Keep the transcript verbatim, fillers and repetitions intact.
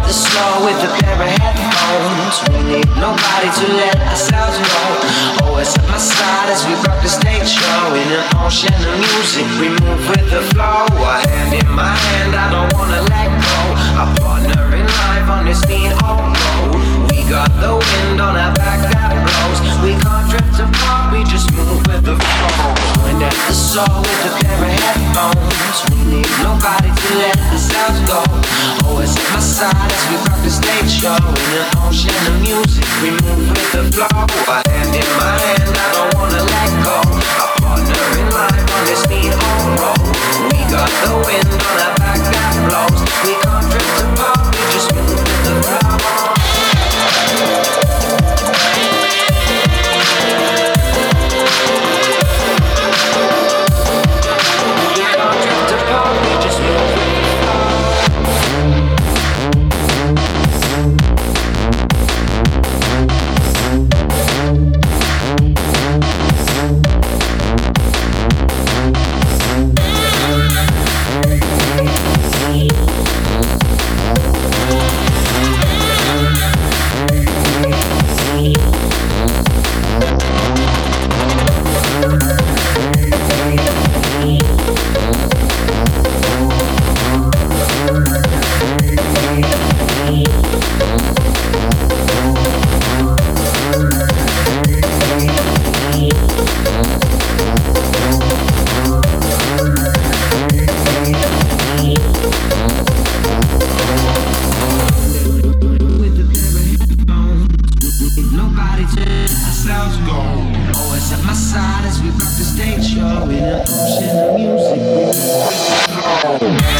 the slow with a pair of headphones. We need nobody to let ourselves go. Always at my side as we rock the stage show. In an ocean of music, we move with the flow. A hand in my hand, I don't wanna let go. Our partner in life on this beat on road. We got the wind on our back that blows. We can't drift apart, we just move with the flow. And at the soul with a pair of headphones. We need nobody to let ourselves go. Always at my side as we rock the stage show. In an ocean of music, we move with the flow. A hand in my hand, I don't wanna let go. Our partner in life on this beat on road. We got the wind on our back that blows. We can't drift apart, we just move with the flow. Always at my side as we rock the stage show. In an ocean of music, we